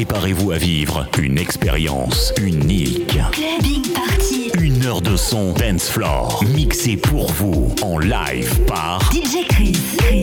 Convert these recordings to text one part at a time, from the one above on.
Préparez-vous à vivre une expérience unique. Clubbing Party. 1 heure de son dance floor mixé pour vous en live par DJ Chris.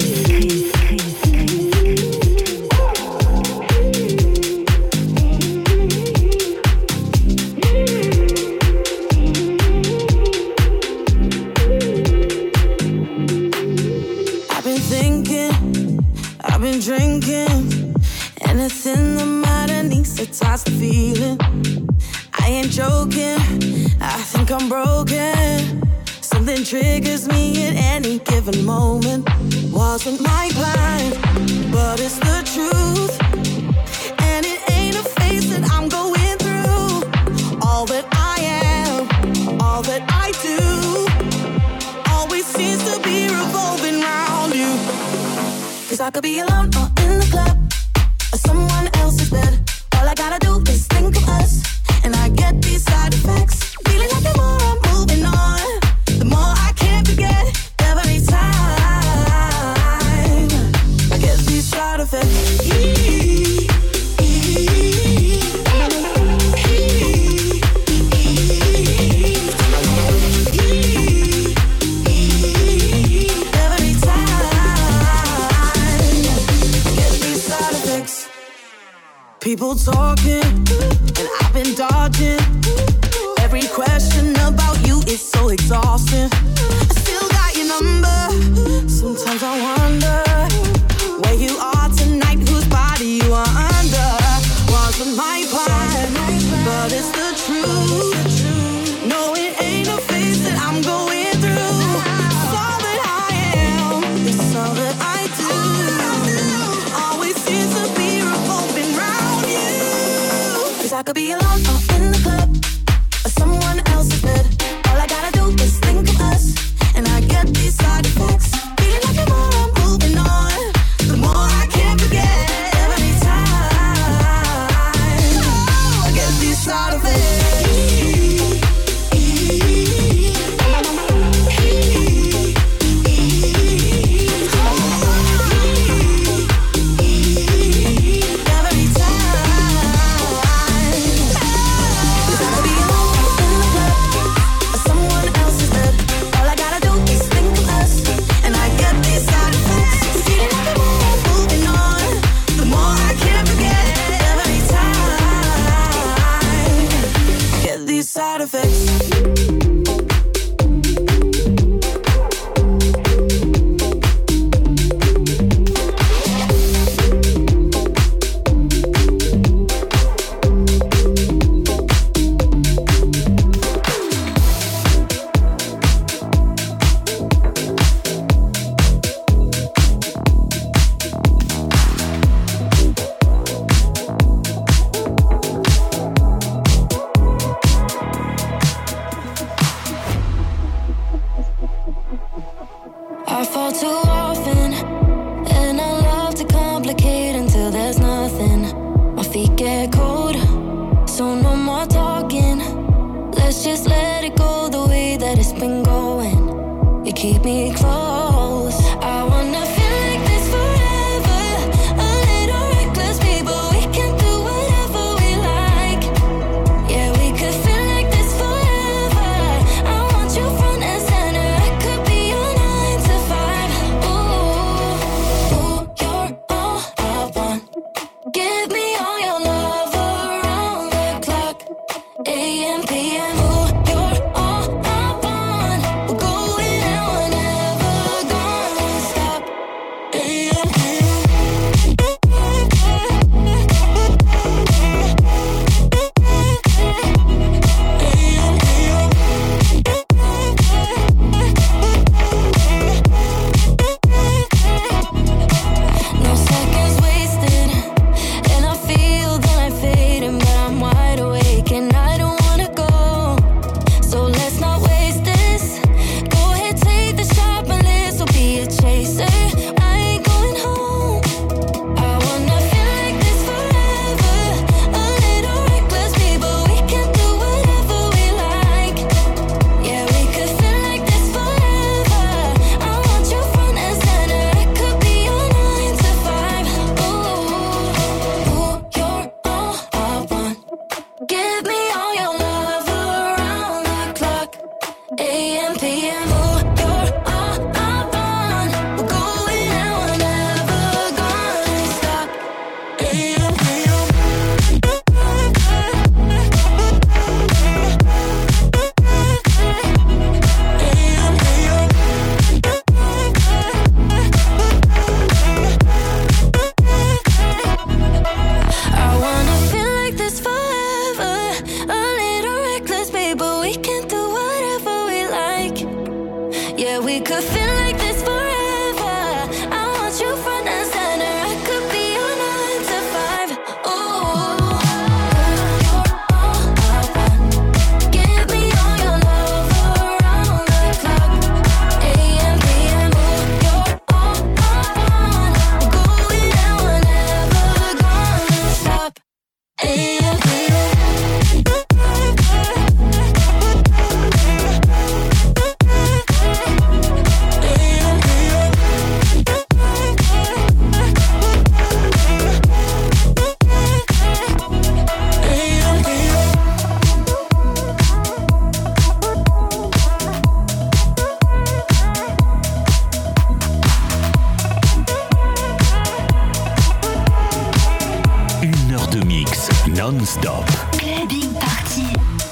I've been drinking anything the matter needs to toss the feeling. I ain't joking, I think I'm broken. Something triggers me at any given moment. Wasn't my plan, but it's the truth. And it ain't a phase that I'm going through. All that I am, all that I do, always seems to be revolving around you. 'Cause I could be alone or in the club or someone else's bed. All I gotta do is think of us, and I get these side effects. Feeling like the more I'm moving on, the more I can't forget. Every time I get these side effects. People talking, and I've been dodging. Every question about you is so exhausting. I still got your number. Sometimes I wonder where you are tonight, whose body you are under. Wasn't my plan, but it's the truth. No, it ain't a phase that I'm going through. It's all that I am, it's all that I do. Always seems to be revolving round you. 'Cause I could be alone or in the club or someone else's bed. All I gotta do is think of us, and I get these side effects. Feeling like the more I'm moving on, the more I can't forget. Every time I get these side effects. Side effects. I fall too often, and I love to complicate until there's nothing. My feet get cold, so no more talking. Let's just let it go the way that it's been going. You keep me close. I wanna feel like this forever. A little reckless, people, we can do whatever we like. Yeah, we could feel like this forever. I want you front and center. I could be your 9 to 5. Ooh, you're all I want. Give me all your love around the clock. AM, PM. Ooh, you're all I want. We're going out whenever non-stop. Clubbing Party.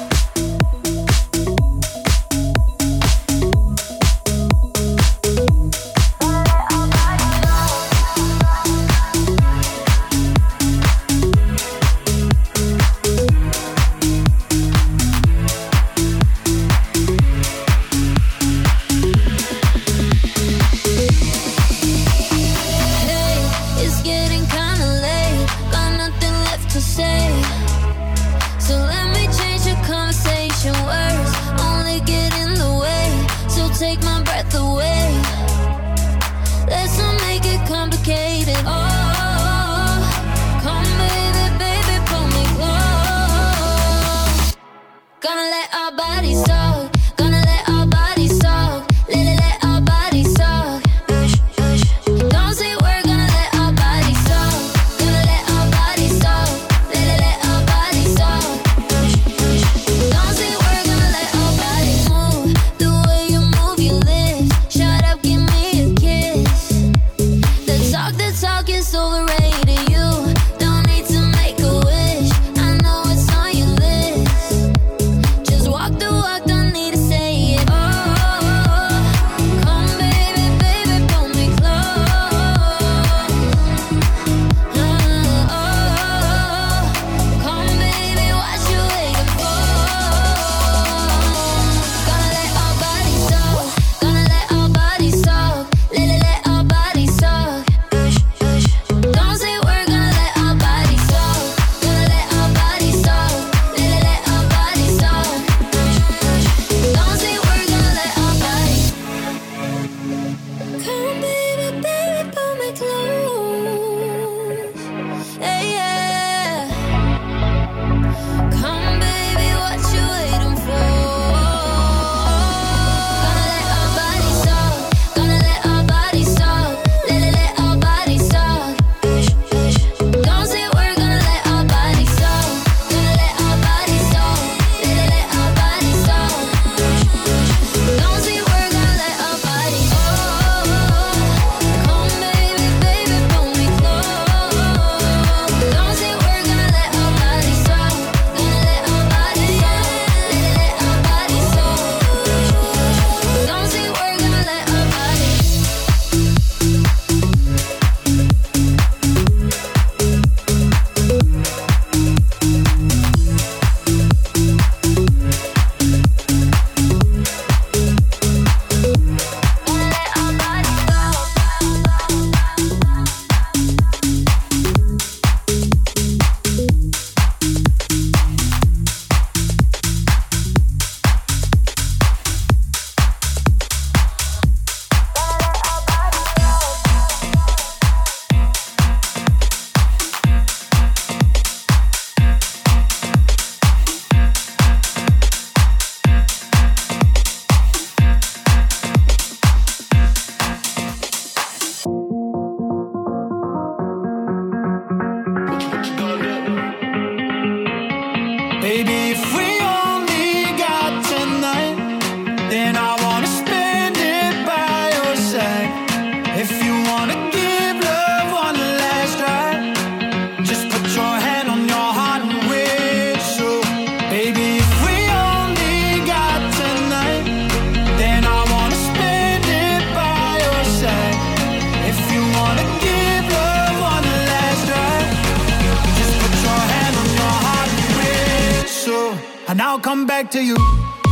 And I'll come back to you.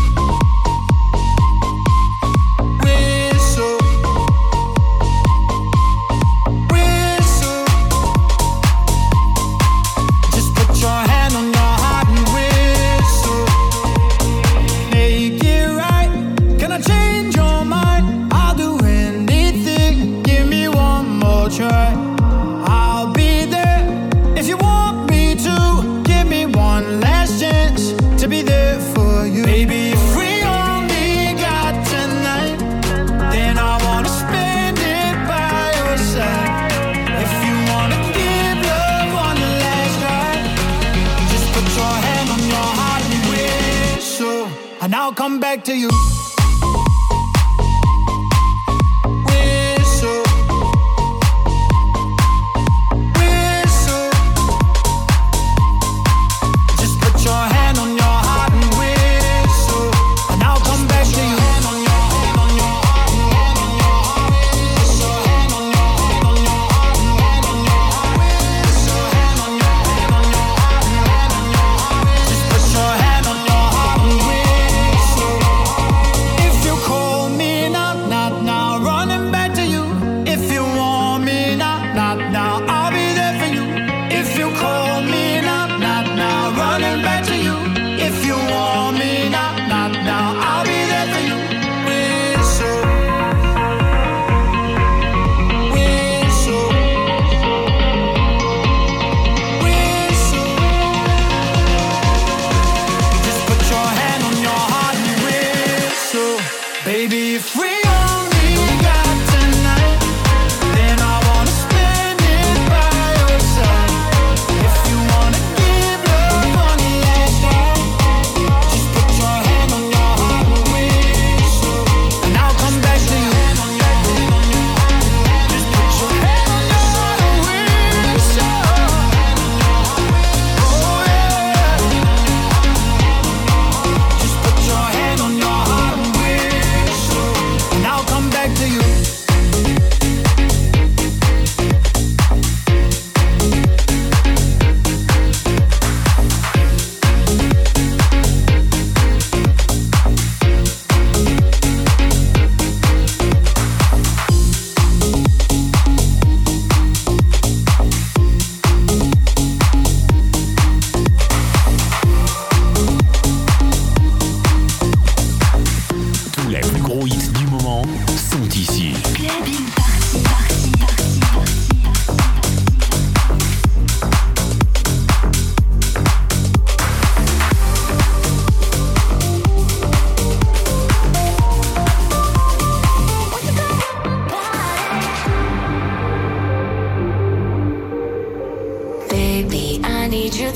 And I'll come back to you.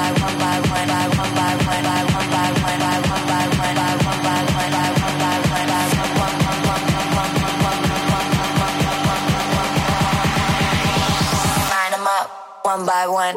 One by one.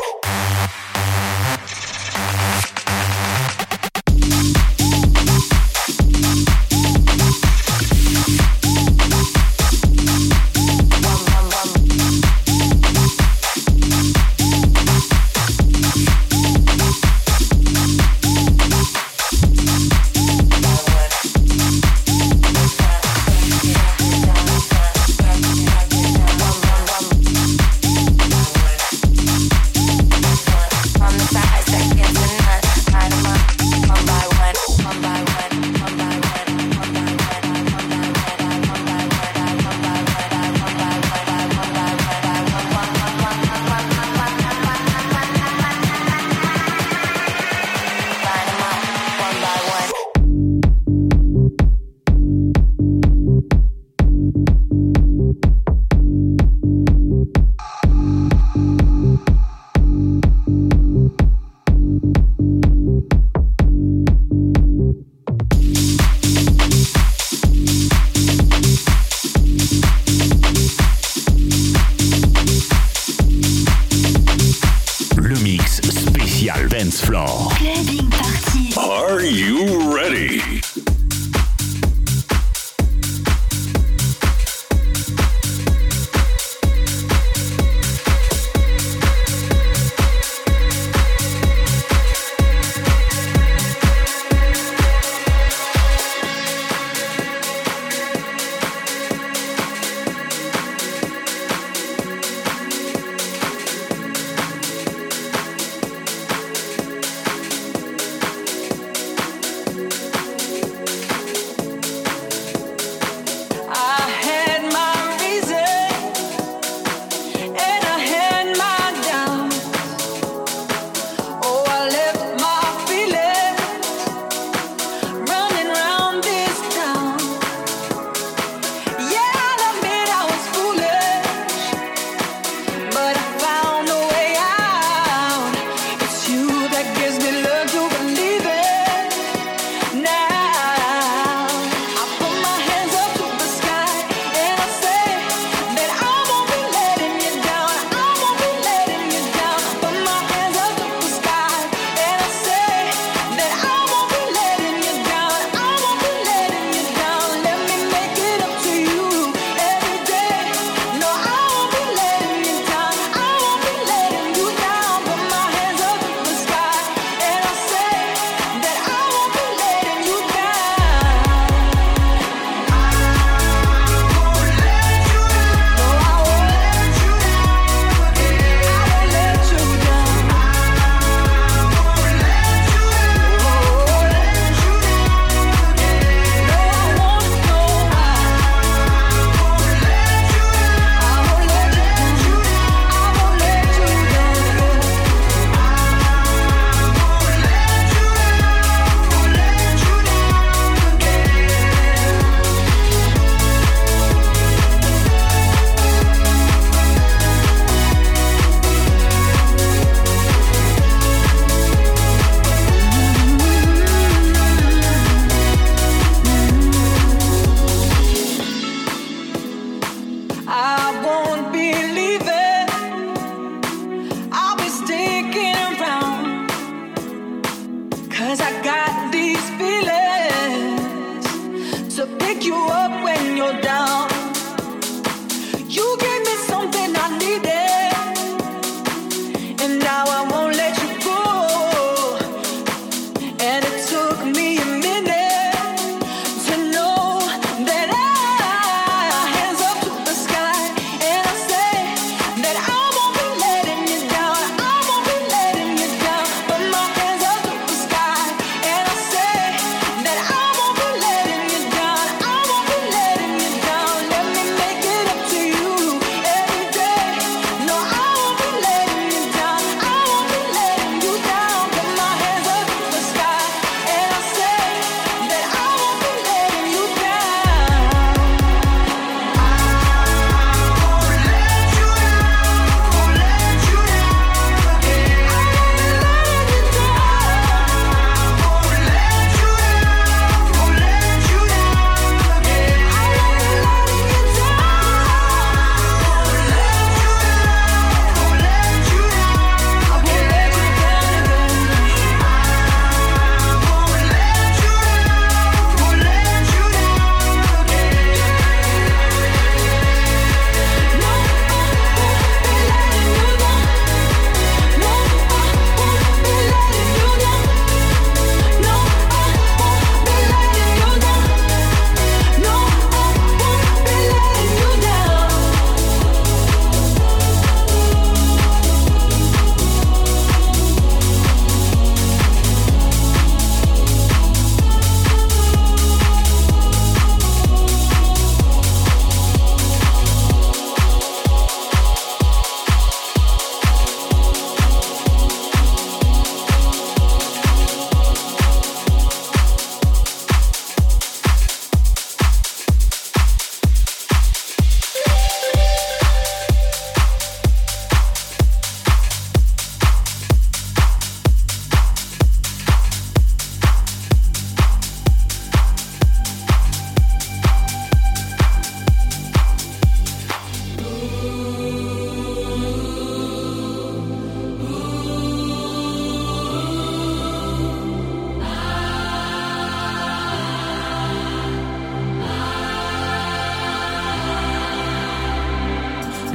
dance floor. Clubbing Party. Are you ready?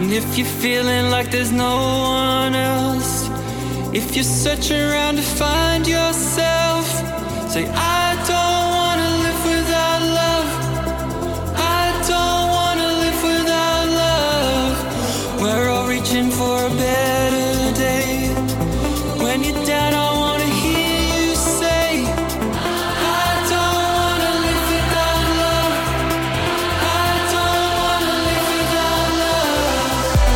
If you're feeling like there's no one else, if you're searching around to find yourself, say I don't wanna live without love. I don't wanna live without love. We're all reaching for a better day. When you're down, I wanna hear you say I don't wanna live without love. I don't wanna live without love.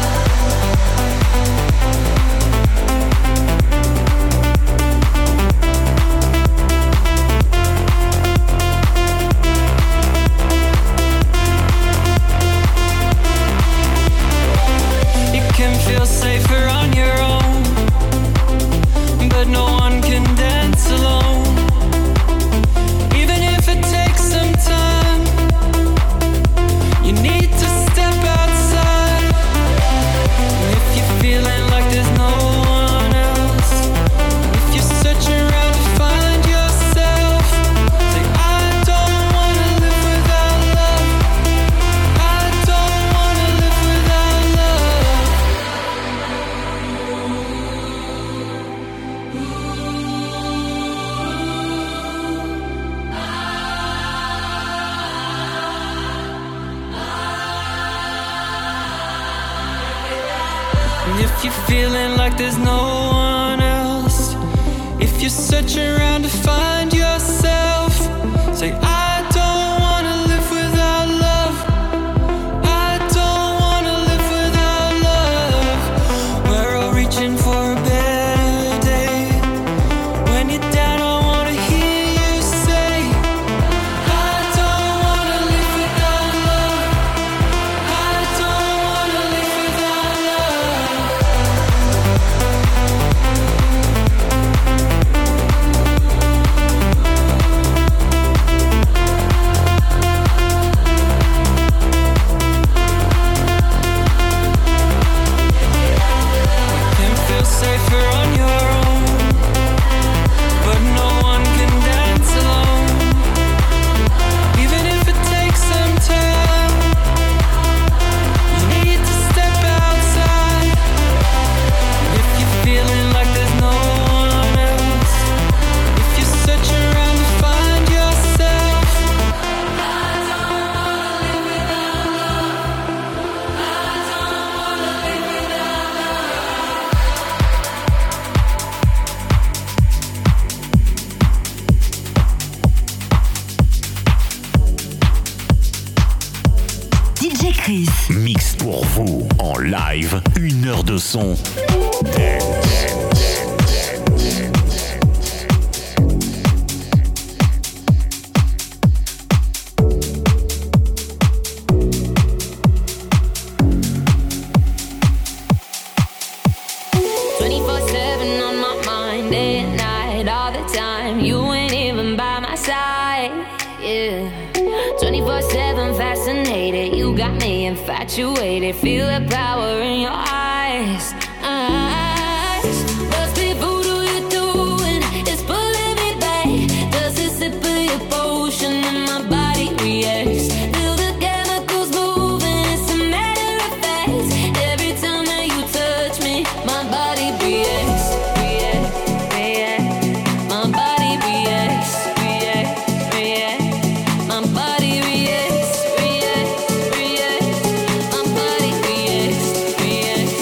You can feel safer on your own, but no one can dance alone. Even if it takes some time, you need to step outside. If you're feeling like there's no one else, if you're searching around to find yourself, say I don't wanna live without love. I don't wanna live without love. And if you're feeling like there's no one else, if you're searching around to find yourself, say I don't wanna live without love. I don't wanna live without love. We're all reaching for a better day. When you're down, I wanna hear you say I don't wanna live without love. I don't wanna live without love. Can feel safer on your own, but no one can dance alone. Even if it takes some time, you need to step outside. If you're feeling like there's no one else, if you're searching around to find yourself, I don't wanna live without love. I don't wanna live without love. DJ Chris. Mix pour vous en live, 1 heure de son. Dance. 24/7 on my mind, day and night, all the time. You ain't even by my side, yeah. 24/7 fascinated, you got me infatuated. Feel the power in your eyes. Must be voodoo you're doing, it's pulling me back. Does it sip of your potion and my body reacts? Feel the chemicals moving, it's a matter of fact. Every time that you touch me, my body reacts, reacts, reacts. My body reacts, reacts, reacts. My body reacts, reacts, reacts. My body reacts, reacts,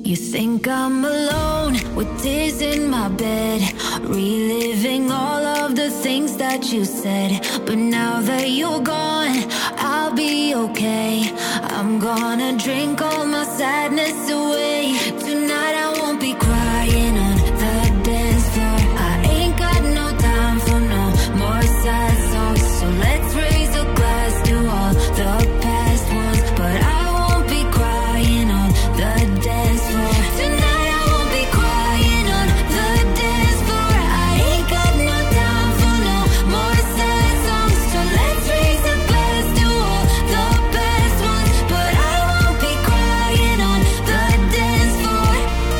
You think I'm alone with tears in my bed, reliving all of the things that you said. But now that you're gone, I'll be okay. I'm gonna drink all my sadness away. Tonight I won't be crying on the dance floor. I ain't got no time for no more sad songs. So let's raise a glass to all the past ones. But I won't be crying on the dance floor. Tonight I won't be crying on the dance floor. I ain't got no time for no more sad songs. So let's raise a glass to all the past ones. But I won't be crying on the dance floor.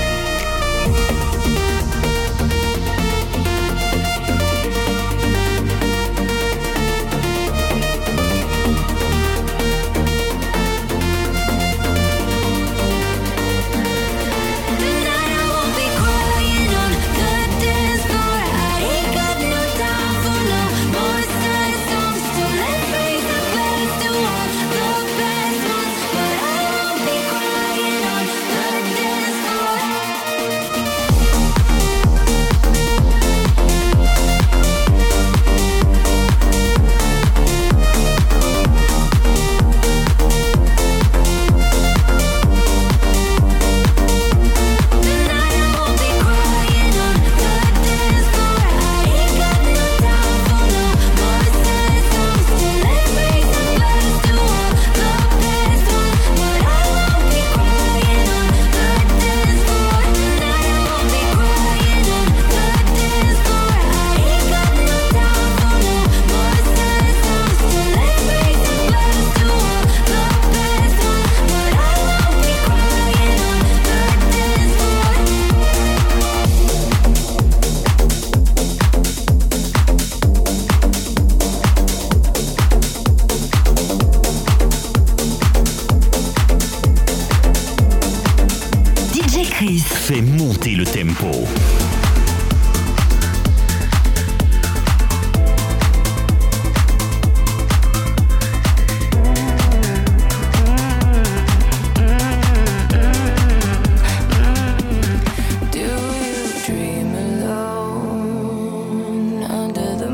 Tonight I won't be crying on the dance floor. I ain't got no time for no more sad songs. So let's raise a glass to all the past ones. But I won't be crying on the dance floor. Tonight I won't be crying on the dance floor. I ain't got no time for no more sad songs. So let's raise a glass to all the past ones. But I won't be crying on the dance floor. Tonight I won't be crying on the dance floor. I ain't got no time for no more sad songs. So let's raise a glass to all the past ones. But I won't be crying on the dance floor. DJ Chris. Fais monter le tempo. Do you dream alone under the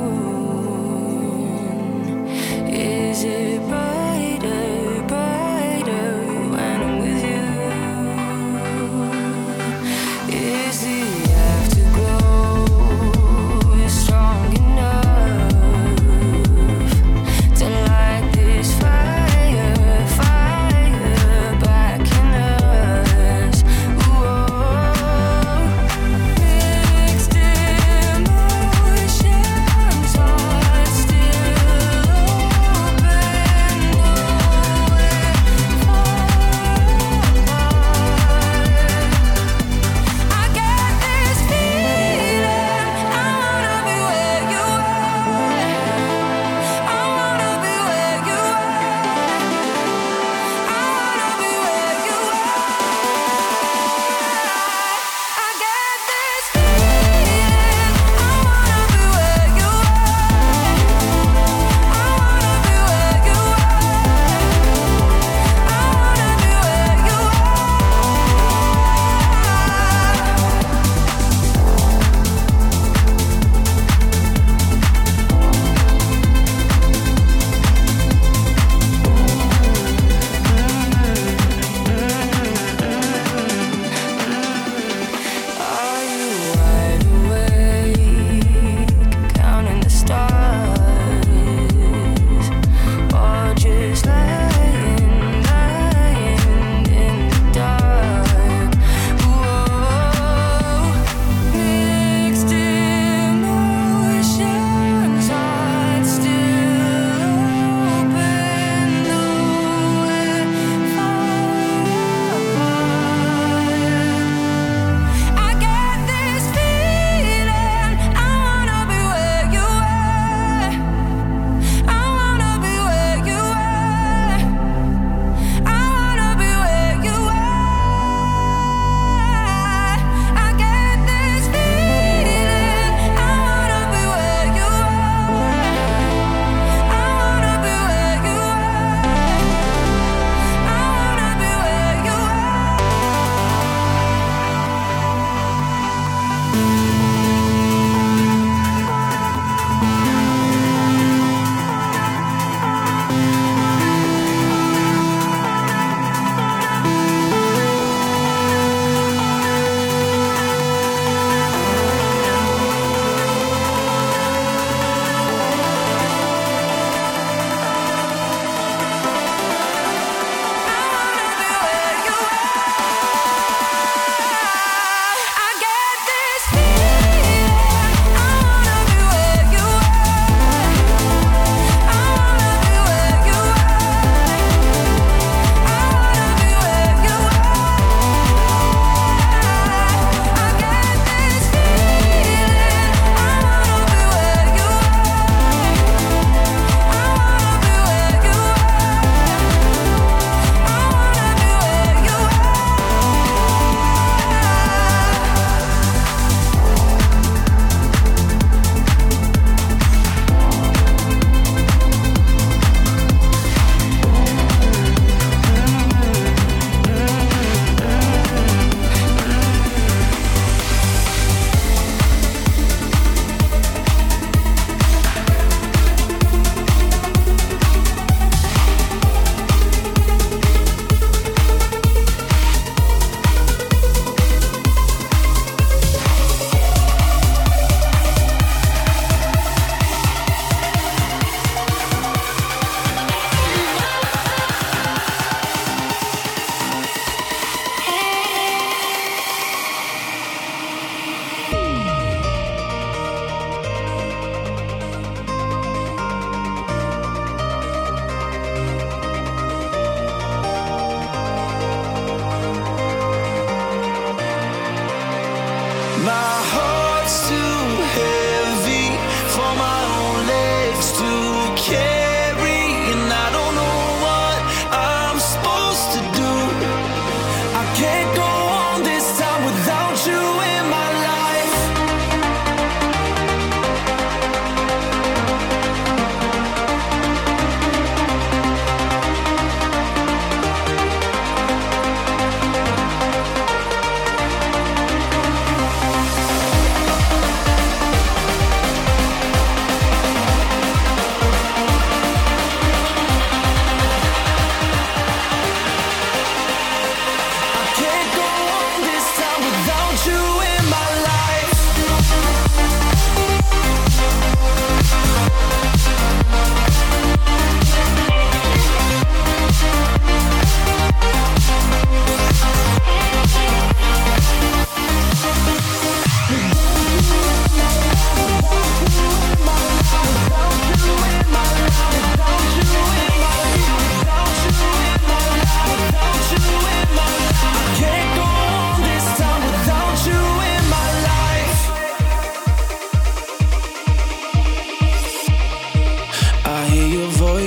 moon? Is it brighter, brighter when I'm with you? Is it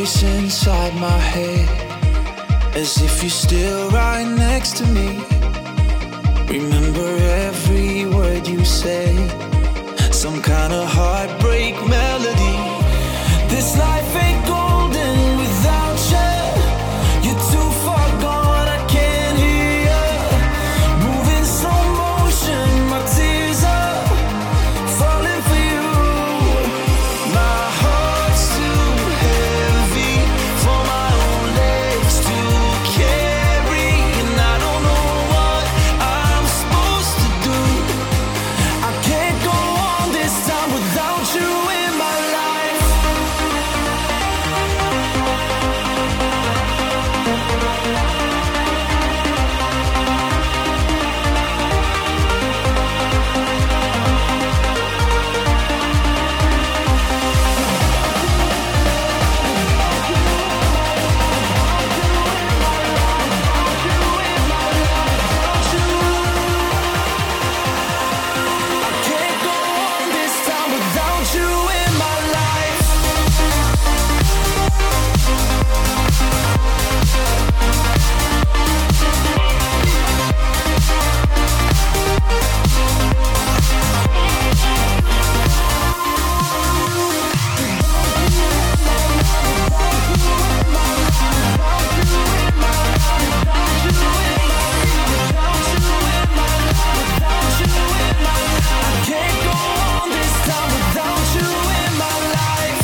voice inside my head, as if you're still right next to me. Remember every word you say, some kind of heartbreak melody. This life ain't golden without you. You're too far gone, I can't hear you. Moving slow motion, my tears are falling for you. My heart's too heavy for my own legs to carry, and I don't know what I'm supposed to do. I can't go on this time without you in my life. I can't go on this time without you in my life. I can't go on this time without you in my life.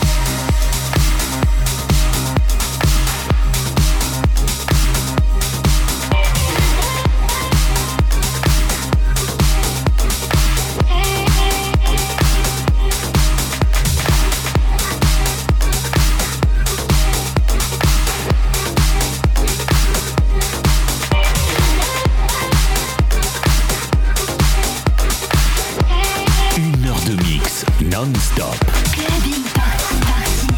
Une heure de mix non-stop. Clubbing Party.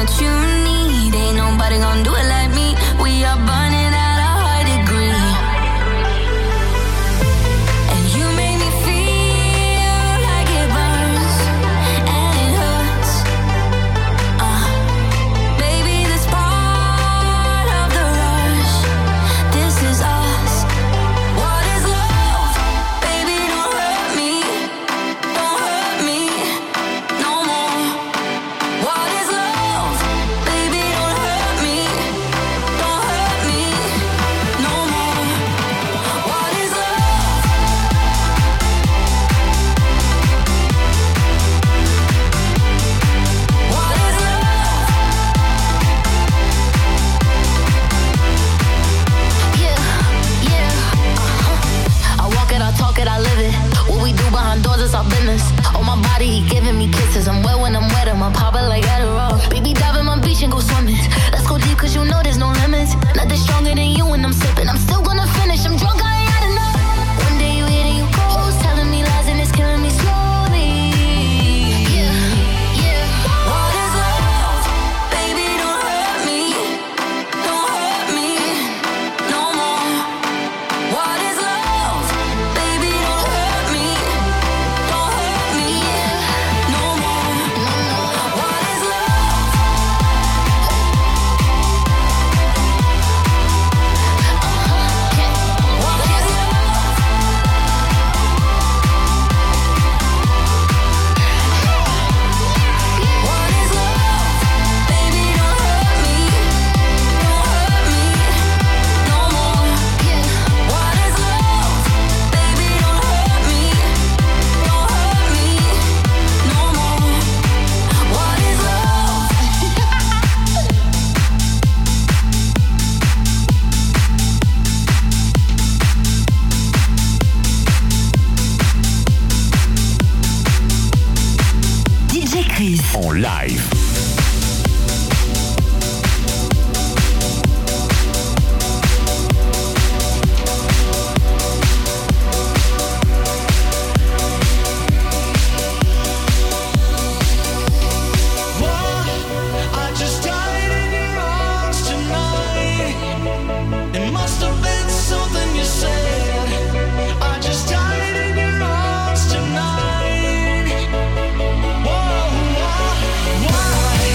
what you need. Ain't nobody gonna do it like me. We are burning at a high degree. And you make me feel like it burns and it hurts. Baby, this part of the rush. This is us. What is love? Baby, don't hurt me. Don't hurt me no more. What is love? Baby, don't hurt me. Don't hurt me no more. What is love? What is love? Yeah. I walk it, I talk it, I live it. What we do behind doors is our business. On my body, he giving me kisses. I'm wet when I'm wet, I'm popping like Adderall. Baby, dive in my beach and go swimming. Let's go deep, cause you know there's no limits. Nothing stronger than you when I'm sipping. I'm still gonna finish, I'm drunk, I ain't had enough. One day you hit and you close, telling me lies and it's killing me slowly. Yeah. What is love? Baby, don't hurt me. Don't hurt me no more. What is love? Baby, don't hurt me. Don't hurt me no more. What is love? What is love? What is love? Baby, don't hurt me. Don't hurt me no more. What is love? Baby, don't hurt me. Don't hurt me no more. What is love? DJ Chris. En live. I just died in your arms tonight. It must have been something you said. I just died in your arms tonight. Whoa, why?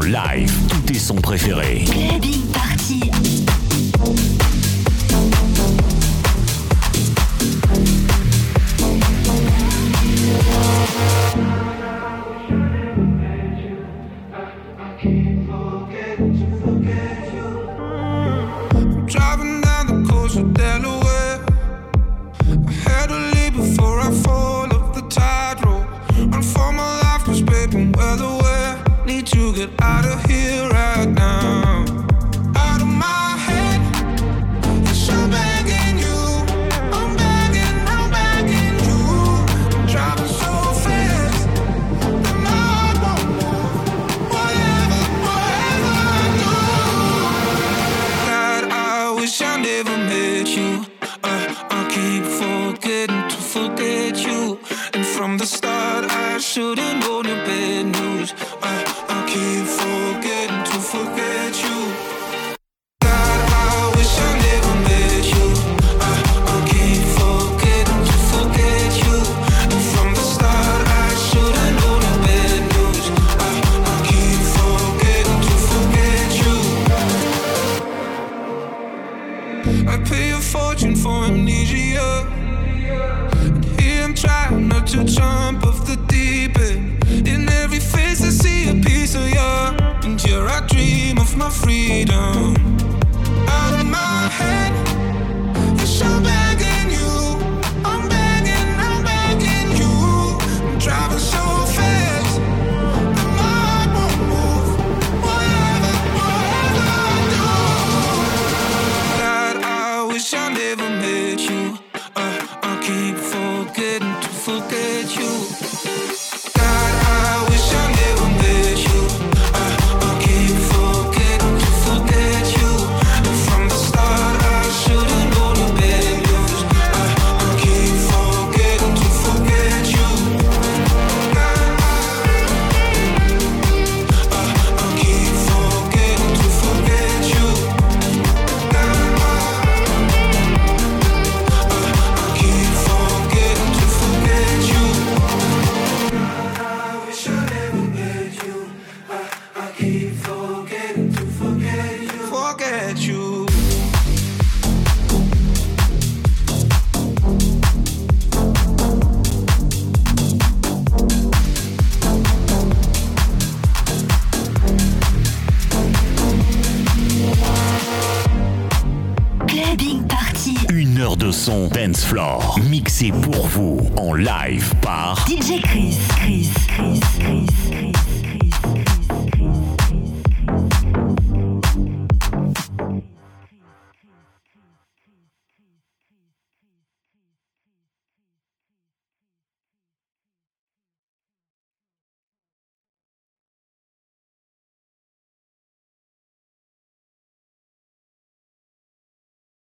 live, tous tes sons préférés. Clubbing Party. Driving down the coast of Delaware, I had to leave before I fall off the tide road. Run for my life, 'cause baby, I'm well aware. Need to get out of here right now. Out of my head, yes, I'm begging you. I'm begging you. I'm driving so fast that my heart won't move. Whatever I do. God, I wish I never met you. I keep forgetting to forget you. And from the start, I should've known the bad news. I keep forgetting to forget you. God, I wish I never met you. I keep forgetting to forget you. And from the start, I should've known the bad news. I keep forgetting to forget you. I pay a fortune for amnesia. And here I'm trying not to jump off the deep end. In every face I see a piece of you. And here I dream of my freedom. Out of my head, yes, I'm begging you. I'm begging you. I'm driving so fast that my heart won't move. Whatever I do. God, I wish I never met you. I keep forgetting to forget you. God, I wish I never met you. I keep forgetting to forget you. And from the start, I should've known the bad news. I keep forgetting to forget you. God, I keep forgetting to forget you. God, I keep forgetting to forget you. I wish I never met you. I keep forgetting to forget you. Forget you. Clubbing Party. 1 heure de son dance floor, mixé pour vous en live par DJ Chris.